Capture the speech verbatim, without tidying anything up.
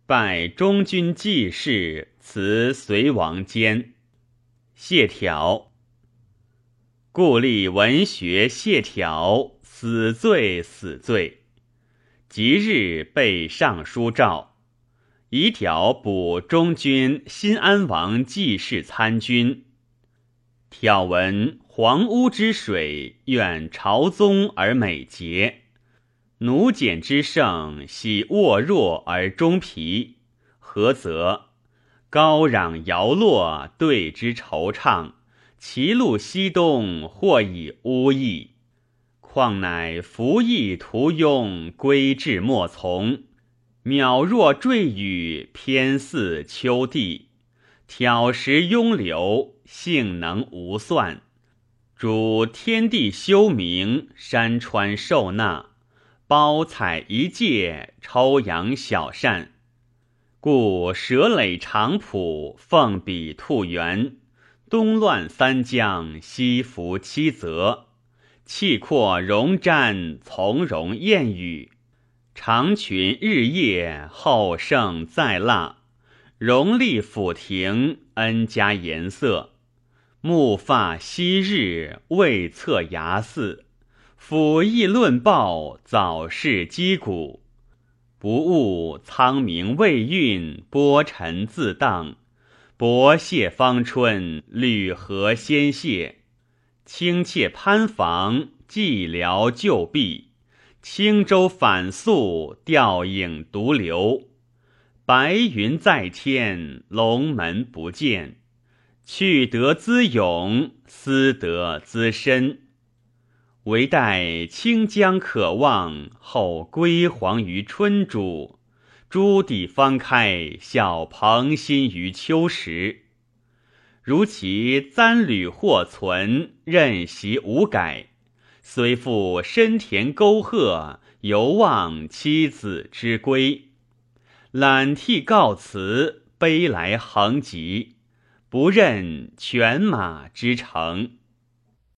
拜中军济士，辞隋王监。谢条。故立文学谢条，死罪死罪。即日被尚书诏，以条补中军新安王济士参军。挑闻黄屋之水，愿朝宗而美节；奴简之盛，喜沃弱而终疲。何则？高壤摇落，对之惆怅；其路西东，或以乌翳。况乃服役途庸，归至莫从。渺若坠雨，偏似秋地。挑食庸流，性能无算。主天地修明，山川受纳。包采一介，抽扬小善。故蛇垒长圃，凤比兔园。东乱三江，西服七泽。气阔容瞻，从容燕语。长群日夜，后胜再腊。荣立府庭，恩加颜色。木发昔日，未测牙似。辅议论报，早逝击鼓。不悟苍冥未运，波尘自荡。薄谢芳春，履合先谢。轻妾攀房，寂寥旧壁。轻舟反宿，吊影独流。白云在天，龙门不见。去得资勇，思得资深。唯待清江可望，后归黄于春渚。朱棣方开，笑蓬心于秋实。如其簪履或存，任习无改。虽复深田沟壑，犹望妻子之归。揽涕告辞，悲来横疾。不任犬马之成。